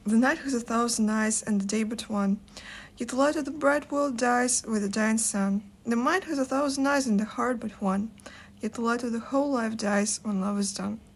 The night has 1,000 eyes and the day but one. Yet the light of the bright world dies with the dying sun. The mind has 1,000 eyes and the heart but one. Yet the light of the whole life dies when love is done.